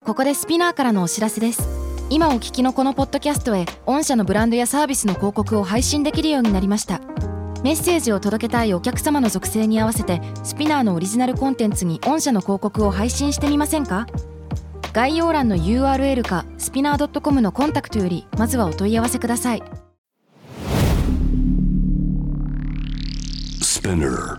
ここでスピナーからのお知らせです。今お聞きのこのポッドキャストへ御社のブランドやサービスの広告を配信できるようになりました。メッセージを届けたいお客様の属性に合わせてスピナーのオリジナルコンテンツに御社の広告を配信してみませんか？概要欄の URL かスピナー .com のコンタクトよりまずはお問い合わせください。 Spinner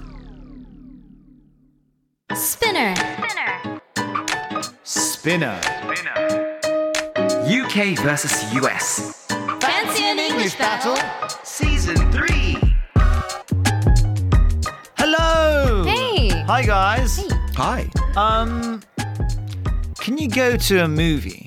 UK vs US Fancy an English battle Season 3 Hello! Hey! Hi guys! Hi. Can you go to a movie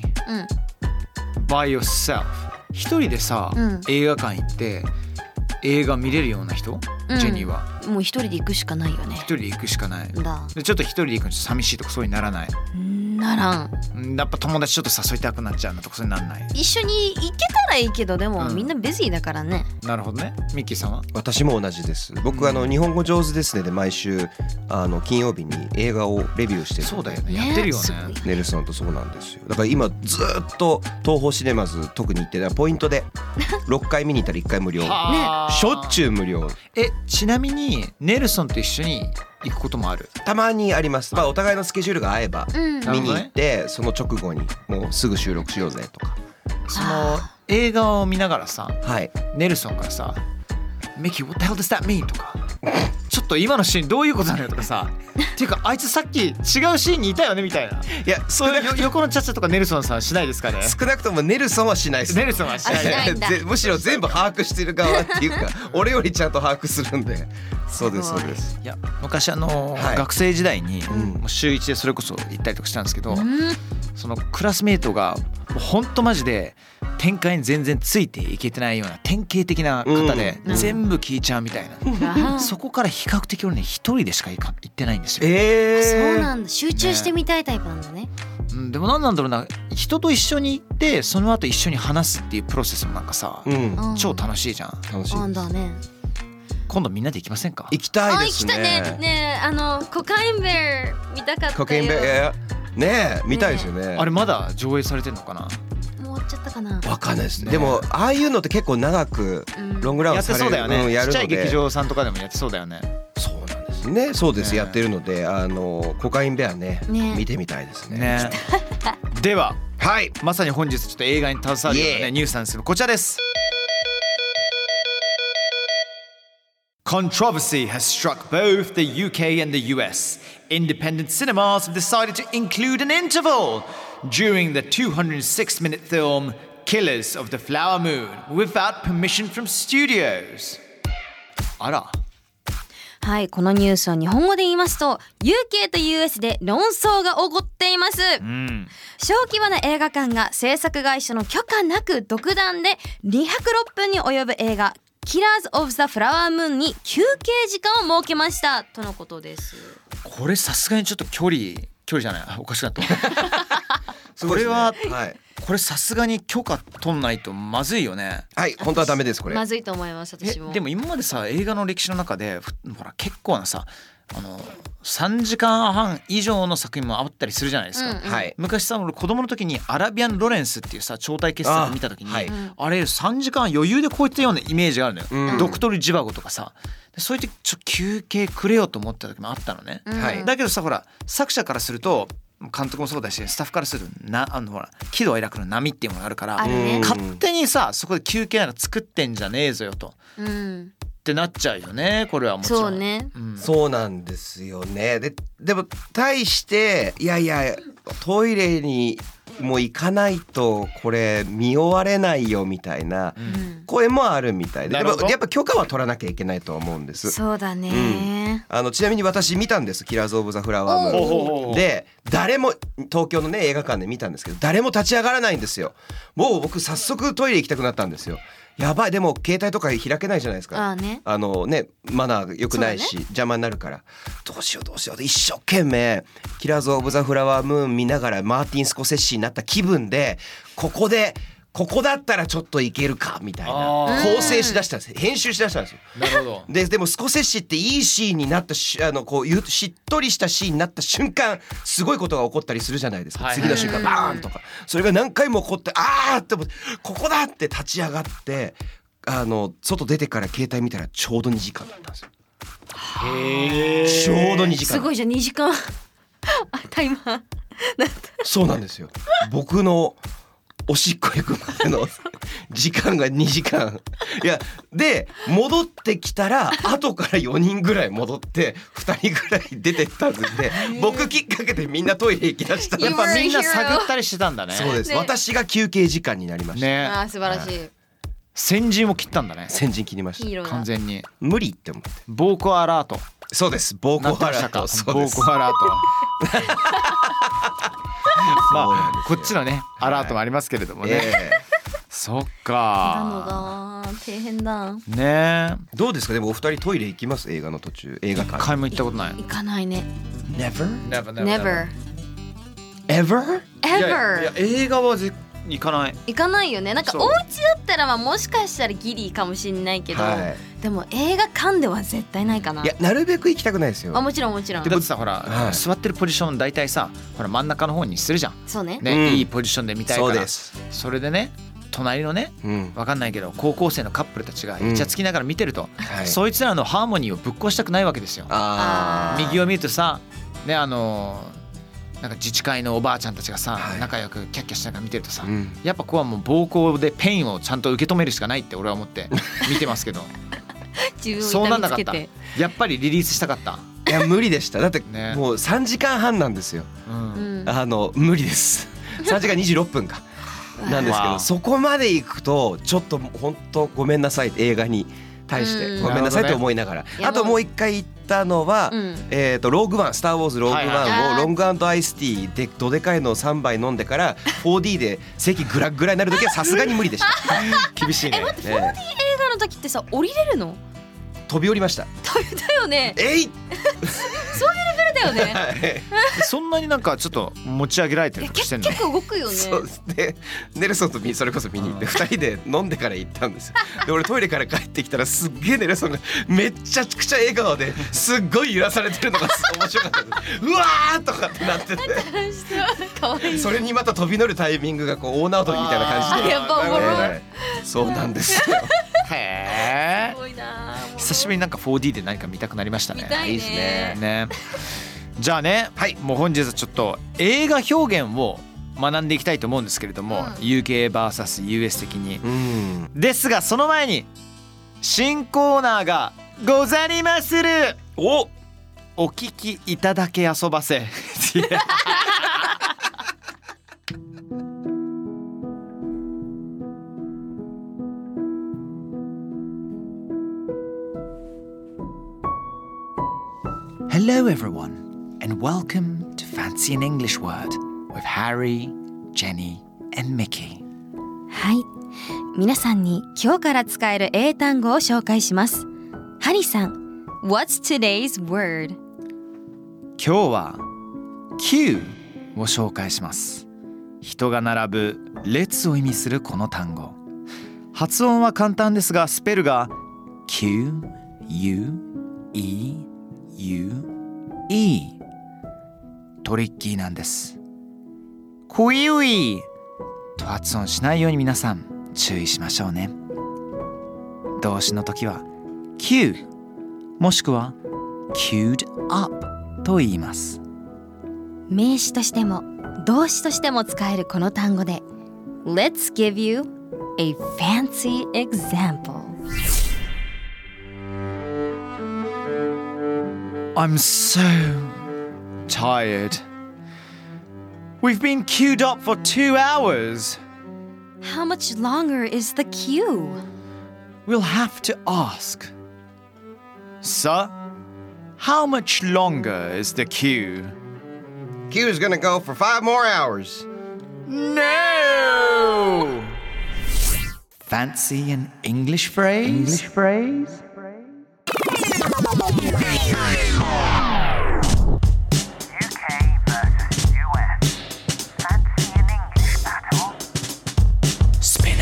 by yourself? 一人でさ、映画館行って映画見れるような人、ジェニーはもう一人で行くしかないよね。 一人で行くしかないだでちょっと一人で行くの寂しいとかそういうにならない？ ならん。 やっぱ友達ちょっと誘いたくなっちゃうなとかそういうになんない？ 一緒に行けたらいいけどでも、みんなビジーだからね。 なるほどね。ミッキーさんは？ 私も同じです。僕日本語上手ですねで毎週金曜日に映画をレビューしてる。 そうだよね。やってるよね。 ネルソンとそうなんですよ。だから今ずっと東宝シネマズ特に行ってポイントで6回見に行ったら1回無料。しょっちゅう無料。 ちなみにネルソンと一緒に行くこともある？ たまにあります。お互いのスケジュールが合えば見に行って、その直後にもうすぐ収録しようぜとか。 その映画を見ながらさ、 はい、 ネルソンからさミキ What the hell does that mean? とかちょっと今のシーンどういうことなのよとかさっていうかあいつさっき違うシーンにいたよねみたいな。いやそういう横のチャチャとかネルソンさんしないですかね？ 少なくともネルソンはしないです。 ネルソンはしないむしろ全部把握してる側っていうか俺よりちゃんと把握するんで。そうですそうです。 いや昔学生時代にもう週1でそれこそ行ったりとかしたんですけど、そのクラスメートがほんとマジで展開に全然ついていけてないような典型的な方で全部聞いちゃうみたいな、そこから比較的俺ね一人でしか行ってないんですよ。 そうなんだ。集中してみたいタイプなんだね。 でもなんだろうな、人と一緒に行ってその後一緒に話すっていうプロセスもなんかさ、超楽しいじゃん。 楽しいです。 だね。 今度みんなで行きませんか？ 行きたいですね。 行きたいね。ねえコカインベア見たかったよ。 コカインベアねえ見たいですよね。 あれまだ上映されてるのかな？ もう終わっちゃったかな。 わかんないですね。でもああいうのって結構長くロングランされる、 やってそうだよね。ちっちゃい劇場さんとかでもやってそうだよね。 そうなんですね。そうです、やってるのでコカインベアね見てみたいですね。 では、 はい、 まさに本日ちょっと映画に携わるようなニュースなんですけどこちらです。Controversy has struck both the UK and the US. Independent cinemas have decided to include an interval during the 206-minute film Killers of the Flower Moon without permission from studios. あら。 はい、このニュースは日本語で言いますと UK と US で論争が起こっています。小規模な映画館が制作会社の許可なく独断で206分に及ぶ映画Killers of the Flower Moon に休憩時間を設けましたとのことです。 これさすがにちょっと距離じゃないおかしかったこれは、はい、これさすがに許可取んないとまずいよね。 はい本当はダメですこれ。 まずいと思います私も。 でも今までさ映画の歴史の中でほら結構なさ3時間半以上の作品もあったりするじゃないですか、昔さ俺子供の時にアラビアン・ロレンスっていうさ超大傑作を見た時に あれ3時間余裕で超えてたようなイメージがあるのよ、ドクトル・ジバゴとかさそういう時休憩くれよと思った時もあったのね、だけどさほら作者からすると監督もそうだしスタッフからするとほら喜怒哀楽の波っていうものがあるから、勝手にさそこで休憩なんか作ってんじゃねえぞよと、ってなっちゃうよねこれはもちろん。 そうね、 そうなんですよね。でも対していやトイレにもう行かないとこれ見終われないよみたいな声もあるみたいで、でもやっぱ許可は取らなきゃいけないと思うんです。 そうだね、 ちなみに私見たんですキラーズ・オブ・ザ・フラワームーンで誰も東京のね映画館で見たんですけど誰も立ち上がらないんですよ。もう僕早速トイレ行きたくなったんですよ。やばいでも携帯とか開けないじゃないですか。マナー良くないし、邪魔になるからどうしよう一生懸命キラーズ・オブ・ザ・フラワームーン見ながらマーティン・スコセッシになった気分でここでここだったらちょっといけるかみたいな構成しだしたんです。編集しだしたんですよ。 なるほど。 でもスコセッシっていいシーンになったこうしっとりしたシーンになった瞬間すごいことが起こったりするじゃないですか、次の瞬間バーンとか、それが何回も起こってあーって思ってここだって立ち上がって外出てから携帯見たらちょうど2時間だったんですよ。ちょうど2時間。 すごいじゃん2時間タイマーそうなんですよ。僕のおしっこ行くまでの時間が2時間。いやで戻ってきたら後から4人ぐらい戻って2人ぐらい出てったんで僕きっかけでみんなトイレ行きだした。 やっぱみんな探ったりしてたんだね。 そうです、 ね、 私が休憩時間になりましたね。 あ素晴らしい。 先陣を切ったんだね。 先陣切りました。 完全に無理って思って。 暴行アラート。 そうです、暴行アラート。 暴行アラートまあこっちのねアラートもありますけれどもね、そっか大変だね。 どうですかでもお二人トイレ行きます？映画の途中。映画館一回も行ったことない。 行かないね。 Never Ever いや映画は行かない。 行かないよね。なんかお家だったらもしかしたらギリかもしれないけど、でも映画館では絶対ないかな。 いやなるべく行きたくないですよ。 もちろんもちろん。 だってさほら、座ってるポジション大体さほら真ん中の方にするじゃん。 そうね。 いいポジションで見たいから。 そうです。 それでね隣のね、わかんないけど高校生のカップルたちがイチャつきながら見てると、そいつらのハーモニーをぶっ壊したくないわけですよ。右を見るとさねなんか自治会のおばあちゃんたちがさ、仲良くキャッキャしながら見てるとさ、やっぱここはもう暴行でペインをちゃんと受け止めるしかないって俺は思って見てますけどそうなんなかった。やっぱりリリースしたかった。 いや無理でした。だってもう3時間半なんですよ、無理です。3時間26分かなんですけど、そこまで行くとちょっと本当ごめんなさい、映画に対してごめんなさいと思いながら、あともう一回行ったのは、ローグワン、スター・ウォーズローグワンをロング&アイスティーでどでかいのを3杯飲んでから 4D で席グラグラになる時はさすがに無理でした。 厳しいね。 待って 4D 映画の時ってさ降りれるの？ 飛び降りました。 だよね。そういうレベルだよね。 そんなになんかちょっと持ち上げられてるとかしてんの？ 結構動くよね。 そうですね。ネルソンとそれこそ見に行って2人で飲んでから行ったんですよ。で俺トイレから帰ってきたらすっげえネルソンがめっちゃくちゃ笑顔ですっごい揺らされてるのが面白かったです。うわーとかってなっててそれにまた飛び乗るタイミングがこう大縄跳びみたいな感じで、 やっぱおもろい。 そうなんですよ。 へー、すごいな。久しぶりになんか 4D で何か見たくなりましたね。 見たいね。 いいですね。 じゃあね、もう本日はちょっと映画表現を学んでいきたいと思うんですけれども、UKVS.US 的に、ですがその前に新コーナーがござりまする。お聞きいただけ遊ばせ。Hello everyone and welcome to Fancy an English Word with Harry, Jenny and Mickey. はい、皆さんに今日から使える英単語を紹介します。ハリーさん、What's today's word? 今日は Q を紹介します。人が並ぶ列を意味するこの単語。発音は簡単ですがスペルが Q-U-E-U-E トリッキーなんです。クイウイと発音しないように皆さん注意しましょうね。動詞の時は Q もしくは queued up と言います。 名詞としても動詞としても使えるこの単語で Let's give you a fancy example. I'm so tired. We've been queued up for 2 hours. How much longer is the queue? We'll have to ask. Sir, how much longer is the queue? Queue's gonna go for 5 more hours. No! Fancy an English phrase? UK versus US. Fancy an English battle? Spin.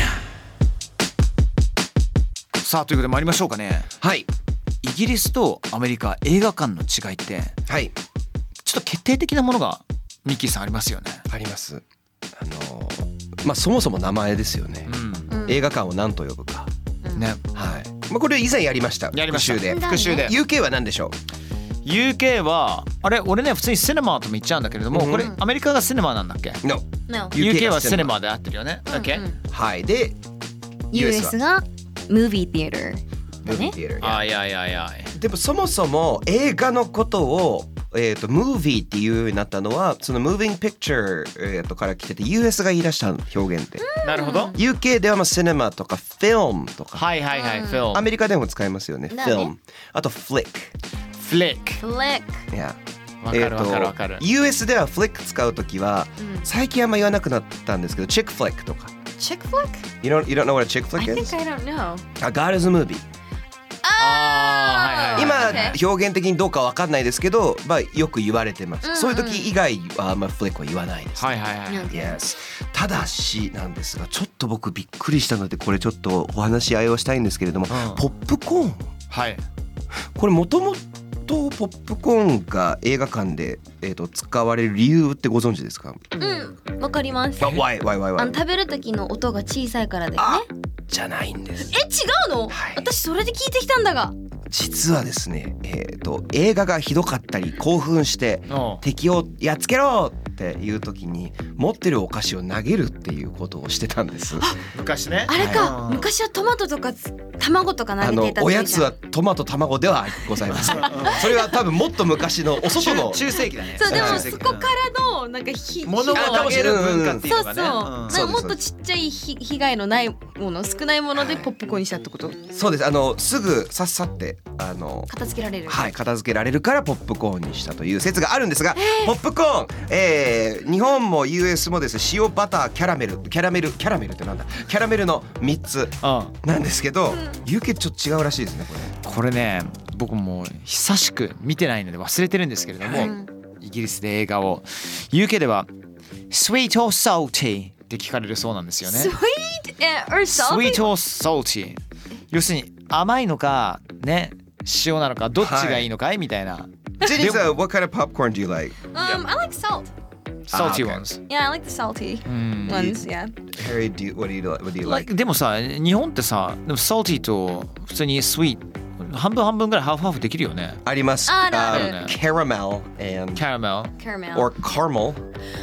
さあということで参りましょうかね。 はい。 イギリスとアメリカ映画館の違いって、 はい、 ちょっと決定的なものがミッキーさんありますよね。 あります。そもそも名前ですよね、映画館を何と呼ぶか、 ね。 はい。これ以前やりました。復習で。UK は何でしょう。 UK はあれ俺ね普通にシネマとも言っちゃうんだけれども、これアメリカがシネマなんだっけ？ No。 UK はシネマで合ってるよね。 はい。で US がムービーティエター。 いやでもそもそも映画のことをムービーっていうようになったのはその Moving Picture、から来てて US が言い出した表現で。 なるほど。 UK ではシネマとかフィルムとか、 はいフィルム。 アメリカでも使いますよね。フィルム。あとフリック。いや。 わかる。 US ではフリック使うときは、最近あんま言わなくなったんですけど、チックフリックとか。 チックフリック？ You don't know what a chick flick is? I think I don't know. A God is a movie. 今表現的にどうかわかんないですけど、よく言われてます。そういう時以外はフリックは言わないです。Yes。ただしなんですが、ちょっと僕びっくりしたのでこれちょっとお話し合いをしたいんですけれども、ポップコーン。 はい。 これもともとポップコーンが映画館で使われる理由ってご存知ですか？ わかります。 Why？ 食べる時の音が小さいからだよね。 じゃないんです。 違うの？私それで聞いてきたんだが。 実はですね、映画がひどかったり興奮して敵をやっつけろっていう時に持ってるお菓子を投げるっていうことをしてたんです。 昔ね。 あれか、昔はトマトとか卵とか投げていた。 おやつはトマト卵ではございません。それは多分もっと昔のお外の中世紀だね。 そうでもそこからのなんか物を投げる文化っていうのがね。 そうもっとちっちゃい被害のないもの少ないものでポップコーンにしたってこと？ そうです。すぐさっさって片付けられる。 はい、片付けられるからポップコーンにしたという説があるんですが、ポップコーン、日本も US もですね、塩バターキャラメルってなんだ？キャラメルの3つなんですけど、UK ちょっと違うらしいですねこれね。僕も久しく見てないので忘れてるんですけれども、イギリスで映画を UK では Sweet or salty って聞かれるそうなんですよね。 Sweet or salty？ Sweet or salty。要するに甘いのかね、塩なのかどっちがいいのかいみたいな。 Jenny, what kind of popcorn do you like? I like salt. Salty ones. Yeah, I like the salty ones. Yeah. Harry, what do you like? でもさ、日本ってさ、でも salty と普通に sweet半分半分ぐらいハーフハーフできるよね。 あります。Caramel and caramel or caramel.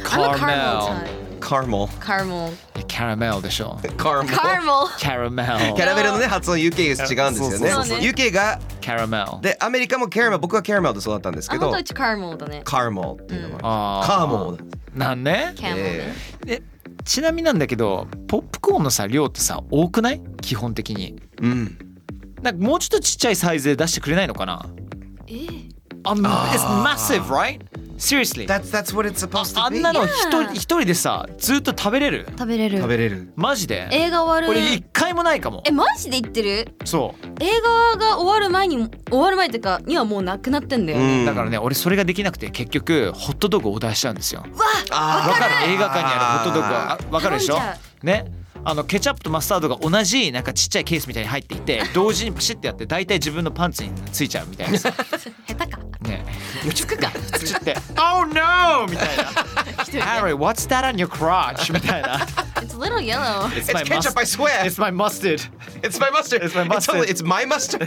Caramel でしょ。 キャラメルのね発音 UK 違うんですよね。UK がキャラメルでアメリカもキャラメル、僕はキャラメルで育ったんですけど。 あ、本当はカラメルだね。 カラメルっていうのは。カーメルなんね。ちなみになんだけどポップコーンのさ量ってさ多くない？基本的に。なんかもうちょっとちっちゃいサイズで出してくれないのかな？It's massive, right? Seriously. That's what it's supposed to be. あんなの一人でさずっと食べれる？ 食べれる。 マジで？ 映画終わる。 俺一回もないかも。 マジで言ってる？ そう。 映画が終わる前っていうかにはもうなくなってんだよね。 だからね俺それができなくて結局ホットドッグをオーダーしちゃうんですよ。わかる？映画館にあるホットドッグはわかるでしょ？ね。ケチャップとマスタードが同じなんかちっちゃいケースみたいに入っていて同時にパシッてやって大体自分のパンツについちゃうみたいなさ。 下手かねつくかつってOh no みたいなHarry what's that on your crotch みたいな It's a little yellow It's ketchup I swear It's my mustard It's my mustard It's my mustard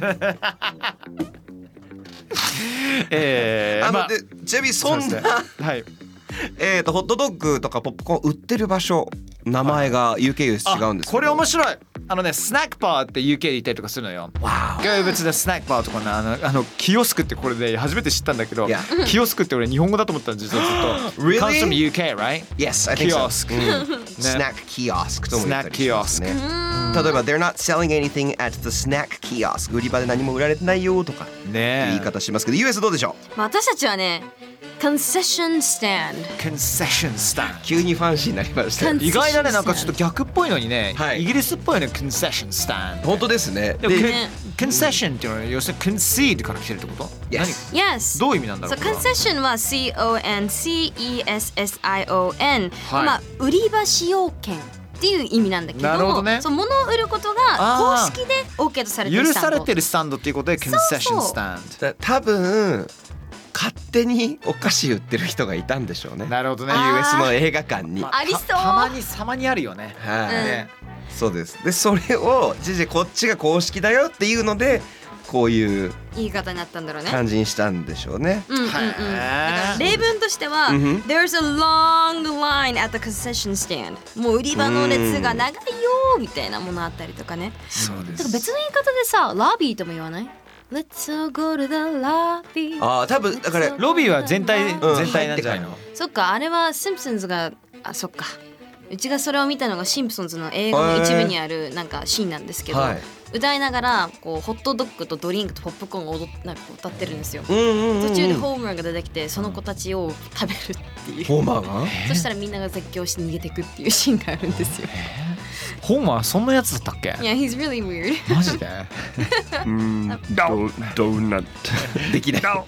ちなみにそんなはいホットドッグとかポップコーン売ってる場所名前が UK より違うんですけどこれ面白いスナックバーって UK でいたりとかするのよ名物でスナックバーとかキヨスクってこれで初めて知ったんだけどキヨスクって俺日本語だと思ったんですよずっと Really? Comes from UK, right? Yes, I think so Snack kiosk とも言ったりしますね例えば They're not selling anything at the snack kiosk 売り場で何も売られてないよとか言い方しますけど US どうでしょう私たちはねConcession stand 急にファンシーになりました意外だねなんかちょっと逆っぽいのにね、イギリスっぽいね Concession stand 本当ですねで Concession っていうのは要するに Concede から来てるってこと？ Yes どういう意味なんだろう？ Concession は CONCESSION まあ売り場使用権っていう意味なんだけど、 なるほどね、 そう物を売ることが公式で OK とされてる許スタンド、 されてるスタンドっていうことでコンセッションスタンド。 多分勝手にお菓子売ってる人がいたんでしょうね。 なるほどね。 US の映画館に、 ありそう。 たまに様にあるよね。 はい、 ね、 そうです。でそれをこっちが公式だよっていうのでこういう言い方になったんだろうね。 感じにしたんでしょうね。 だから例文としては、There's a long line at the concession stand。もう売り場の列が長いよみたいなものあったりとかね。 そうです。 だから別の言い方でさ、ロビーとも言わない？ Let's all go to the lobby。 あ、多分だからロビーは全体なんじゃないの？ そっか、あれはシンプソンズが、そっか。うちがそれを見たのがシンプソンズの映画の一部にあるなんかシーンなんですけど、歌いながらこうホットドッグとドリンクとポップコーンをなんか歌ってるんですよ。途中でホーマーが出てきてその子たちを食べるっていう。 ホーマーが？ そしたらみんなが絶叫して逃げてくっていうシーンがあるんですよ。 ホーマーそんなやつだったっけ？ Yeah, he's really weird。 マジで？ ドーナツできない。はい。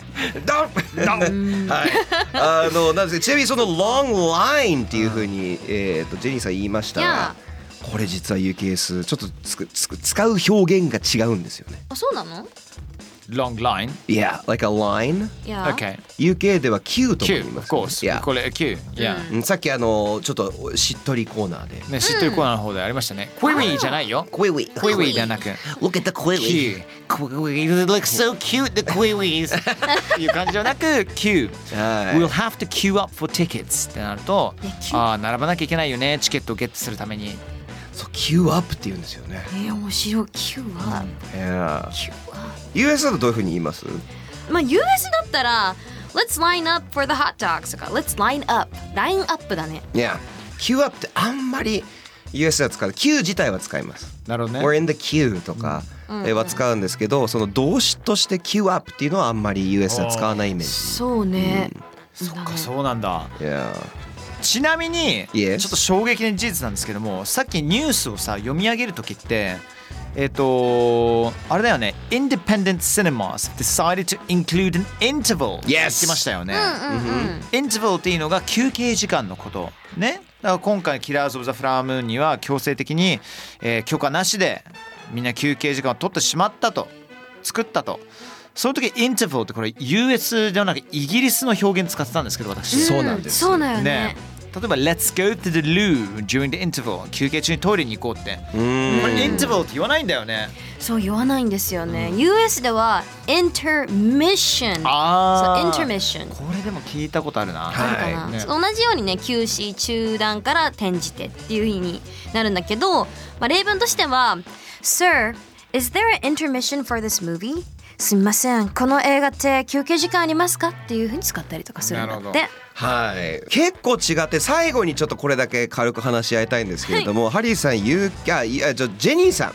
なんですちなみにその long line っていう風にジェニーさん言いましたが、これ実は UKS ちょっと使う表現が違うんですよね。 あ、そうなの？ Long line? Yeah, like a line. Yeah. Okay. UK では Q とも言い Q, ま of す、ね。 course. これ Q. Yeah. さっきちょっとしっとりコーナーで。 ね、しっとりコーナーの方でありましたね。Query じゃないよ。 Query. Query ではなく。 Look at the query. Q. Query looks so cute, the queries. っていう感じじゃなく Q. We'll have to queue up for tickets ってなると、並ばなきゃいけないよね、チケットをゲットするために。 そう、Q アップって言うんですよね。 面白い。Q は、 US だとどういう風に言います？ まあ US だったら Let's line up for the hot dogs とか Let's line up。ラインアップだね。 いや、Q アップってあんまり US は使う。Q 自体は使います。 なるほどね。 We're in the queue とかは使うんですけど、その動詞として Q アップっていうのはあんまり US は使わないイメージ。 そうね。 そっか、そうなんだ。 Yeah。 ちなみにちょっと衝撃的事実なんですけども、さっきニュースをさ読み上げるときってあれだよね、 Independent Cinemas decided to include an interval って言ってましたよね。Interval っていうのが休憩時間のことね。だから今回キラーズ・オブ・ザ・フラワームーンには強制的に、許可なしでみんな休憩時間を取ってしまったと、作ったと。その時インターバルってこれ US ではなくイギリスの表現使ってたんですけど、私。 そうなんです。 そうだよね。 例えば Let's go to the loo during the interval。 休憩中にトイレに行こうって。これインターバルって言わないんだよね。 そう言わないんですよね。US では intermission。そう、intermission。 これでも聞いたことあるな。 同じようにね、休止、中断から転じてっていう風になるんだけど、例文としては Sir, is there an intermission for this movie?すみません、この映画って休憩時間ありますかっていう風に使ったりとかするんだって。 はい、結構違って、最後にちょっとこれだけ軽く話し合いたいんですけれども、ハリーさんジェニーさん、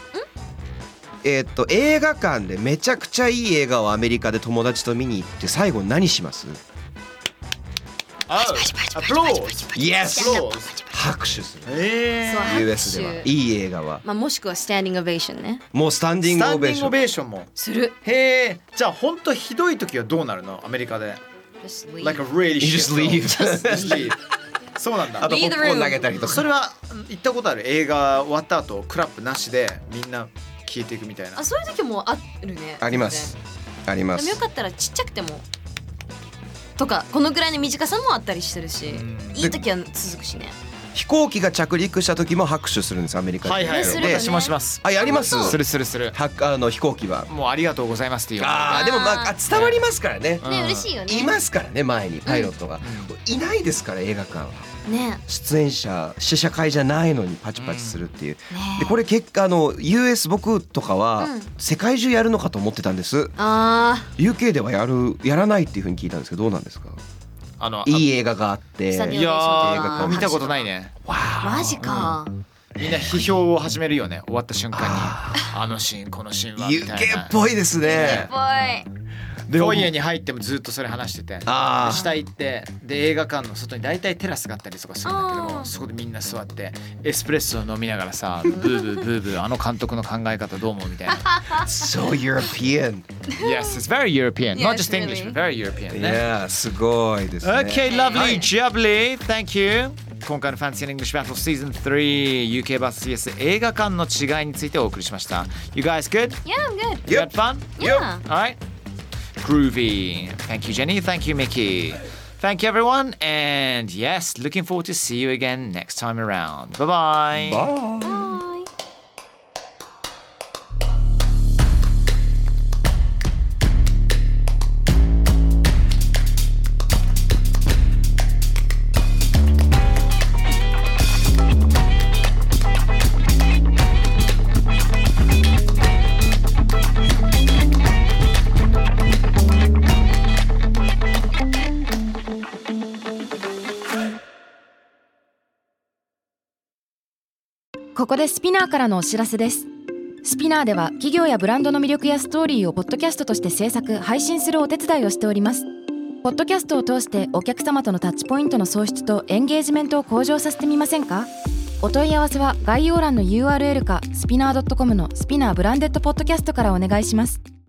映画館でめちゃくちゃいい映画をアメリカで友達と見に行って最後何します？拍手する。US ではいい映画は、 もしくはスタンディングオベーションね。 もうスタンディングオベーションもする。 へえ。じゃあ本当ひどい時はどうなるの？アメリカで Like a really just leave. そうなんだ。 あとポップコーン投げたりとか。 それは行ったことある？映画終わった後クラップなしでみんな消えていくみたいな。 そういう時もあるね。 あります。あります。 でもよかったらちっちゃくてもとかこのぐらいの短さもあったりしてるし、いい時は続くしね。 飛行機が着陸した時も拍手するんです、アメリカで。 はいはい。でします。 やります。 する。 飛行機はもうありがとうございますっていう。 でも伝わりますからね。 ね、嬉しいよね。 いますからね、前にパイロットがいないですから、映画館は。 ね。 出演者試写会じゃないのにパチパチするっていう。でこれ結果US 僕とかは世界中やるのかと思ってたんです。UK ではやらないっていう風に聞いたんですけど、どうなんですか？いい映画があって、 いやー見たことないね。 マジか。 みんな批評を始めるよね、終わった瞬間に。あのシーンこのシーンはみたいな。 UK っぽいですね。 フォイエに入ってもずっとそれ話してて、下行ってで映画館の外に大体テラスがあったりとかするんだけども、そこでみんな座ってエスプレッソを飲みながらさ、ブーブーブーブー、あの監督の考え方どう思うみたいな。 So European. Yes, it's very European. Not just English, but very European. いや、すごいですね。 Okay, lovely, jubbly. Thank you. 今回の Fancy and English Battle Season 3 UK vs 映画館の違いについてお送りしました。 You guys good? Yeah, I'm good. You had fun? Yeah. Alright. Groovy. Thank you, Jenny. Thank you, Mickey. Thank you, everyone. And yes, looking forward to see you again next time around. Bye-bye. Bye. ここでスピナーからのお知らせです。スピナーでは企業やブランドの魅力やストーリーをポッドキャストとして制作・配信するお手伝いをしております。ポッドキャストを通してお客様とのタッチポイントの創出とエンゲージメントを向上させてみませんか？お問い合わせは概要欄の URL かスピナー .com のスピナーブランデッドポッドキャストからお願いします。